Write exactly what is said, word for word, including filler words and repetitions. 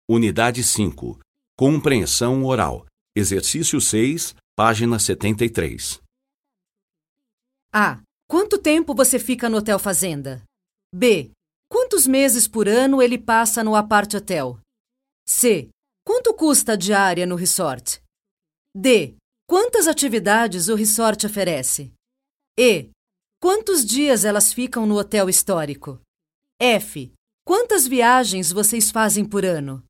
Unidade cinco. Compreensão oral. Exercício seis, página setenta e três. A. Quanto tempo você fica no Hotel Fazenda? B. Quantos meses por ano ele passa no Apart Hotel? C. Quanto custa a diária no resort? D. Quantas atividades o resort oferece? E. Quantos dias elas ficam no hotel histórico? F. Quantas viagens vocês fazem por ano?